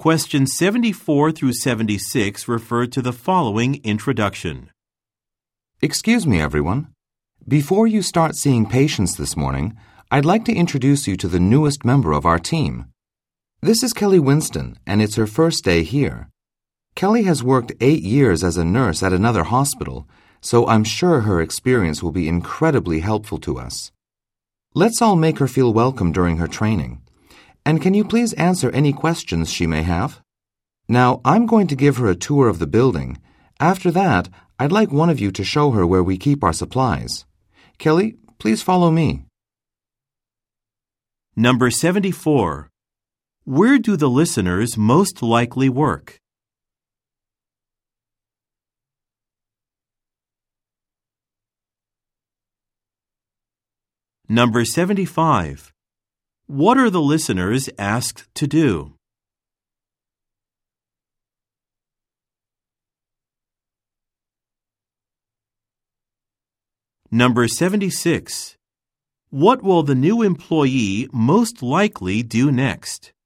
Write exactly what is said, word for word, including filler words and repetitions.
Questions seventy-four through seventy-six refer to the following introduction. Excuse me, everyone. Before you start seeing patients this morning, I'd like to introduce you to the newest member of our team. This is Kelly Winston, and it's her first day here. Kelly has worked eight years as a nurse at another hospital, so I'm sure her experience will be incredibly helpful to us. Let's all make her feel welcome during her training. And can you please answer any questions she may have? Now, I'm going to give her a tour of the building. After that, I'd like one of you to show her where we keep our supplies. Kelly, please follow me. Number seventy-four. Where do the listeners most likely work? Number seventy-five. What are the listeners asked to do? Number seventy-six. What will the new employee most likely do next?